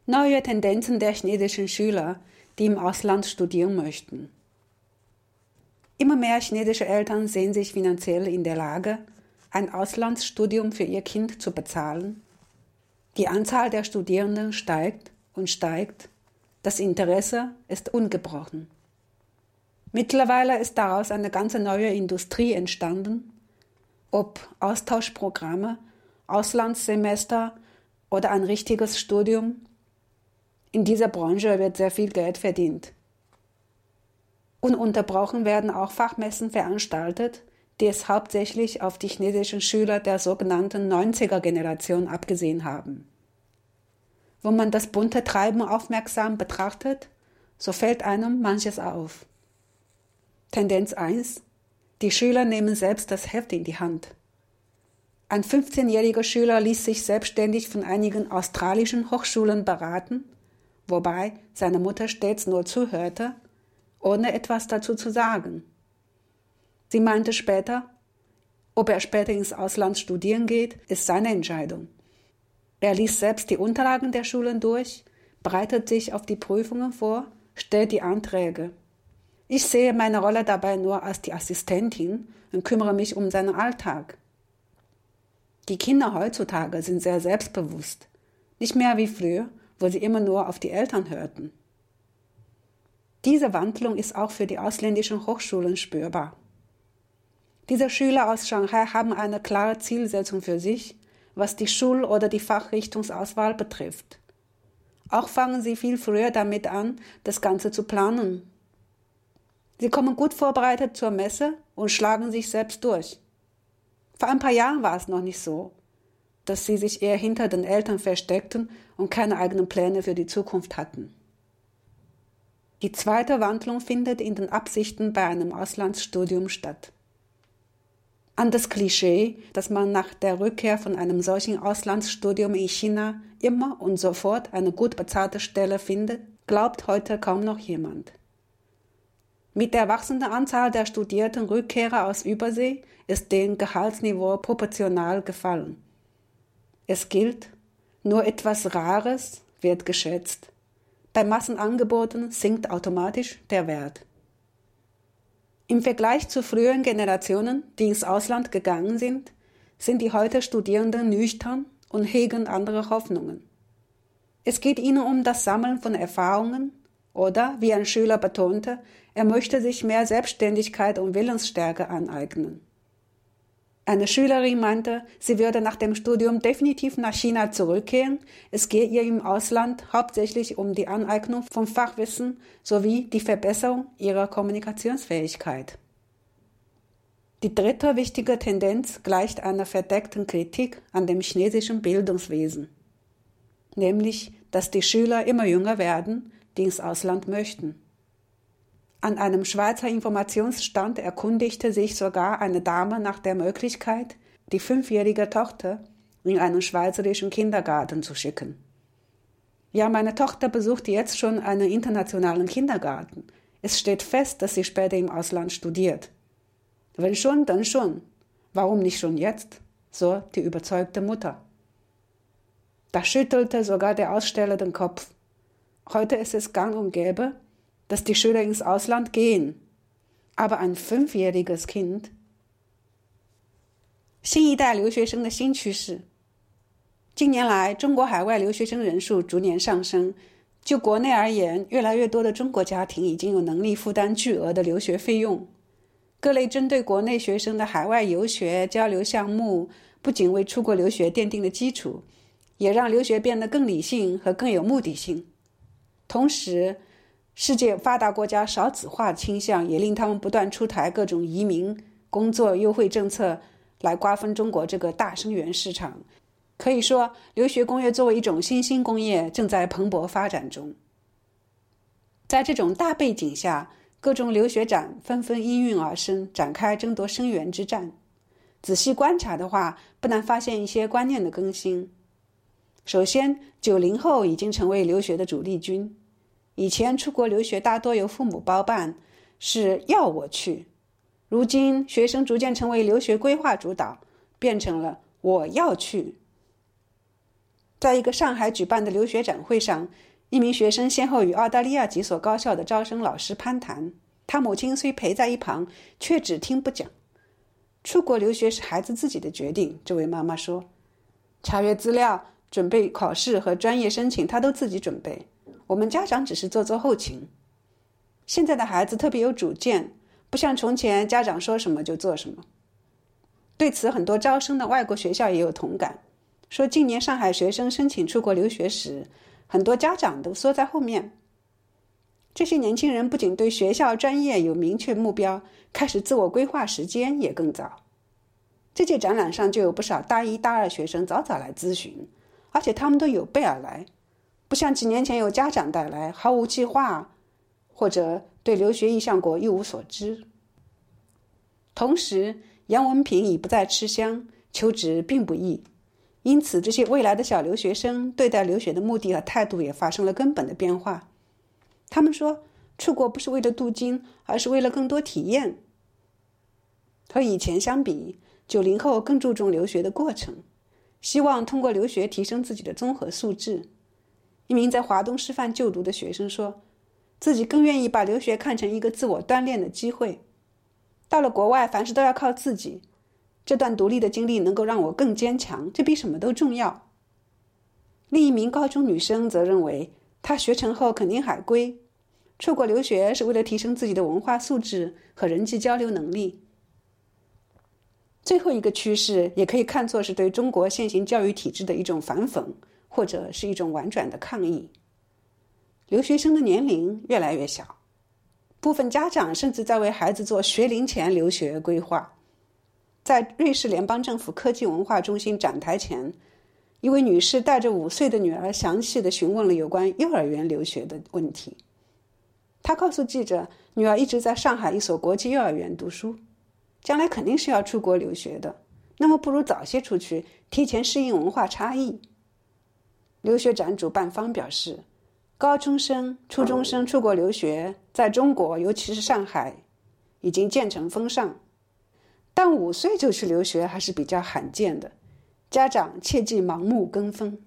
Neue Tendenzen der chinesischen Schüler, die im Ausland studieren möchten. Immer mehr chinesische Eltern sehen sich finanziell in der Lage, ein Auslandsstudium für ihr Kind zu bezahlen. Die Anzahl der Studierenden steigt und steigt. Das Interesse ist ungebrochen. Mittlerweile ist daraus eine ganze neue Industrie entstanden. Ob Austauschprogramme, Auslandssemester oder ein richtiges Studium, in dieser Branche wird sehr viel Geld verdient. Ununterbrochen werden auch Fachmessen veranstaltet, die es hauptsächlich auf die chinesischen Schüler der sogenannten 90er-Generation abgesehen haben. Wenn man das bunte Treiben aufmerksam betrachtet, so fällt einem manches auf. Tendenz 1: Die Schüler nehmen selbst das Heft in die Hand. Ein 15-jähriger Schüler ließ sich selbstständig von einigen australischen Hochschulen beraten, wobei seine Mutter stets nur zuhörte, ohne etwas dazu zu sagen. Sie meinte später, ob er später ins Ausland studieren geht, ist seine Entscheidung. Er liest selbst die Unterlagen der Schulen durch, bereitet sich auf die Prüfungen vor, stellt die Anträge. Ich sehe meine Rolle dabei nur als die Assistentin und kümmere mich um seinen Alltag. Die Kinder heutzutage sind sehr selbstbewusst, nicht mehr wie früher, wo sie immer nur auf die Eltern hörten. Diese Wandlung ist auch für die ausländischen Hochschulen spürbar. Diese Schüler aus Shanghai haben eine klare Zielsetzung für sich, was die Schul- oder die Fachrichtungsauswahl betrifft. Auch fangen sie viel früher damit an, das Ganze zu planen. Sie kommen gut vorbereitet zur Messe und schlagen sich selbst durch. Vor ein paar Jahren war es noch nicht so, dass sie sich eher hinter den Eltern versteckten und keine eigenen Pläne für die Zukunft hatten. Die zweite Wandlung findet in den Absichten bei einem Auslandsstudium statt. An das Klischee, dass man nach der Rückkehr von einem solchen Auslandsstudium in China immer und sofort eine gut bezahlte Stelle findet, glaubt heute kaum noch jemand. Mit der wachsenden Anzahl der studierten Rückkehrer aus Übersee ist dem Gehaltsniveau proportional gefallen. Es gilt, nur etwas Rares wird geschätzt. Bei Massenangeboten sinkt automatisch der Wert. Im Vergleich zu früheren Generationen, die ins Ausland gegangen sind die heute Studierenden nüchtern und hegen andere Hoffnungen. Es geht ihnen um das Sammeln von Erfahrungen oder, wie ein Schüler betonte, er möchte sich mehr Selbstständigkeit und Willensstärke aneignen. Eine Schülerin meinte, sie würde nach dem Studium definitiv nach China zurückkehren. Es gehe ihr im Ausland hauptsächlich um die Aneignung von Fachwissen sowie die Verbesserung ihrer Kommunikationsfähigkeit. Die dritte wichtige Tendenz gleicht einer verdeckten Kritik an dem chinesischen Bildungswesen, nämlich, dass die Schüler immer jünger werden, die ins Ausland möchten. An einem Schweizer Informationsstand erkundigte sich sogar eine Dame nach der Möglichkeit, die 5-jährige Tochter in einen schweizerischen Kindergarten zu schicken. Ja, meine Tochter besucht jetzt schon einen internationalen Kindergarten. Es steht fest, dass sie später im Ausland studiert. Wenn schon, dann schon. Warum nicht schon jetzt? So die überzeugte Mutter. Da schüttelte sogar der Aussteller den Kopf. Heute ist es gang und gäbe, dass die Schüler ins Ausland gehen. Aber ein 5-jähriges Kind. 新一代留学生的新趋势。近年来，中国海外留学生人数逐年上升。就国内而言，越来越多的中国家庭已经有能力负担巨额的留学费用。各类针对国内学生的海外游学交流项目，不仅为出国留学奠定了基础，也让留学变得更理性和更有目的性。同时，世界发达国家少子化倾向也令他们不断出台各种移民、工作优惠政策来瓜分中国这个大生源市场。可以说，留学工业作为一种新兴工业正在蓬勃发展中。在这种大背景下，各种留学展纷纷应运而生，展开争夺生源之战。仔细观察的话，不难发现一些观念的更新。首先，90后已经成为留学的主力军。以前出国留学大多由父母包办，是要我去。如今学生逐渐成为留学规划主导，变成了我要去。 在一个上海举办的留学展会上，一名学生先后与澳大利亚几所高校的招生老师攀谈，他母亲虽陪在一旁，却只听不讲。出国留学是孩子自己的决定，这位妈妈说，查阅资料、准备考试和专业申请他都自己准备，我们家长只是做做后勤。现在的孩子特别有主见，不像从前家长说什么就做什么。对此，很多招生的外国学校也有同感，说近年上海学生申请出国留学时，很多家长都缩在后面。这些年轻人不仅对学校专业有明确目标，开始自我规划时间也更早。这届展览上就有不少大一、大二学生早早来咨询，而且他们都有备而来，不像几年前有家长带来，毫无计划，或者对留学意向国一无所知。同时，洋文凭已不再吃香，求职并不易，因此这些未来的小留学生对待留学的目的和态度也发生了根本的变化。他们说，出国不是为了镀金，而是为了更多体验。和以前相比，90后更注重留学的过程，希望通过留学提升自己的综合素质。一名在华东师范就读的学生说，自己更愿意把留学看成一个自我锻炼的机会。到了国外，凡事都要靠自己，这段独立的经历能够让我更坚强，这比什么都重要。另一名高中女生则认为，她学成后肯定海归，出国留学是为了提升自己的文化素质和人际交流能力。最后一个趋势也可以看作是对中国现行教育体制的一种反讽，或者是一种婉转的抗议。留学生的年龄越来越小，部分家长甚至在为孩子做学龄前留学规划。在瑞士联邦政府科技文化中心展台前，一位女士带着5岁的女儿详细地询问了有关幼儿园留学的问题。她告诉记者，女儿一直在上海一所国际幼儿园读书，将来肯定是要出国留学的，那么不如早些出去，提前适应文化差异。留学展主办方表示，高中生、初中生出国留学在中国，尤其是上海，已经渐成风尚，但5岁就去留学还是比较罕见的，家长切忌盲目跟风。